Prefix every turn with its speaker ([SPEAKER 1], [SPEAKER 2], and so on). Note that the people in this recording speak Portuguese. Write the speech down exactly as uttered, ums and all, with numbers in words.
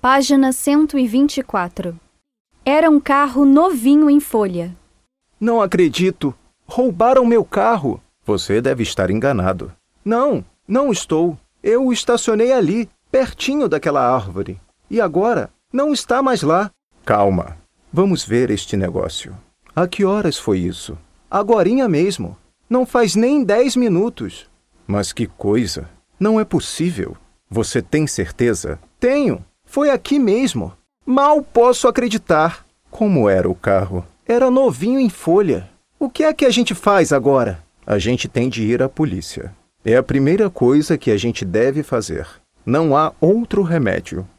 [SPEAKER 1] Página cento e vinte e quatro. Era um carro novinho em folha.
[SPEAKER 2] Não acredito! Roubaram meu carro!
[SPEAKER 3] Você deve estar enganado.
[SPEAKER 2] Não, não estou. Eu o estacionei ali, pertinho daquela árvore. E agora, não está mais lá.
[SPEAKER 3] Calma. Vamos ver este negócio. A que horas foi isso?
[SPEAKER 2] Agorinha mesmo. Não faz nem dez minutos.
[SPEAKER 3] Mas que coisa! Não é possível. Você tem certeza?
[SPEAKER 2] Tenho. Foi aqui mesmo. Mal posso acreditar.
[SPEAKER 3] Como era o carro?
[SPEAKER 2] Era novinho em folha. O que é que a gente faz agora?
[SPEAKER 3] A gente tem de ir à polícia. É a primeira coisa que a gente deve fazer. Não há outro remédio.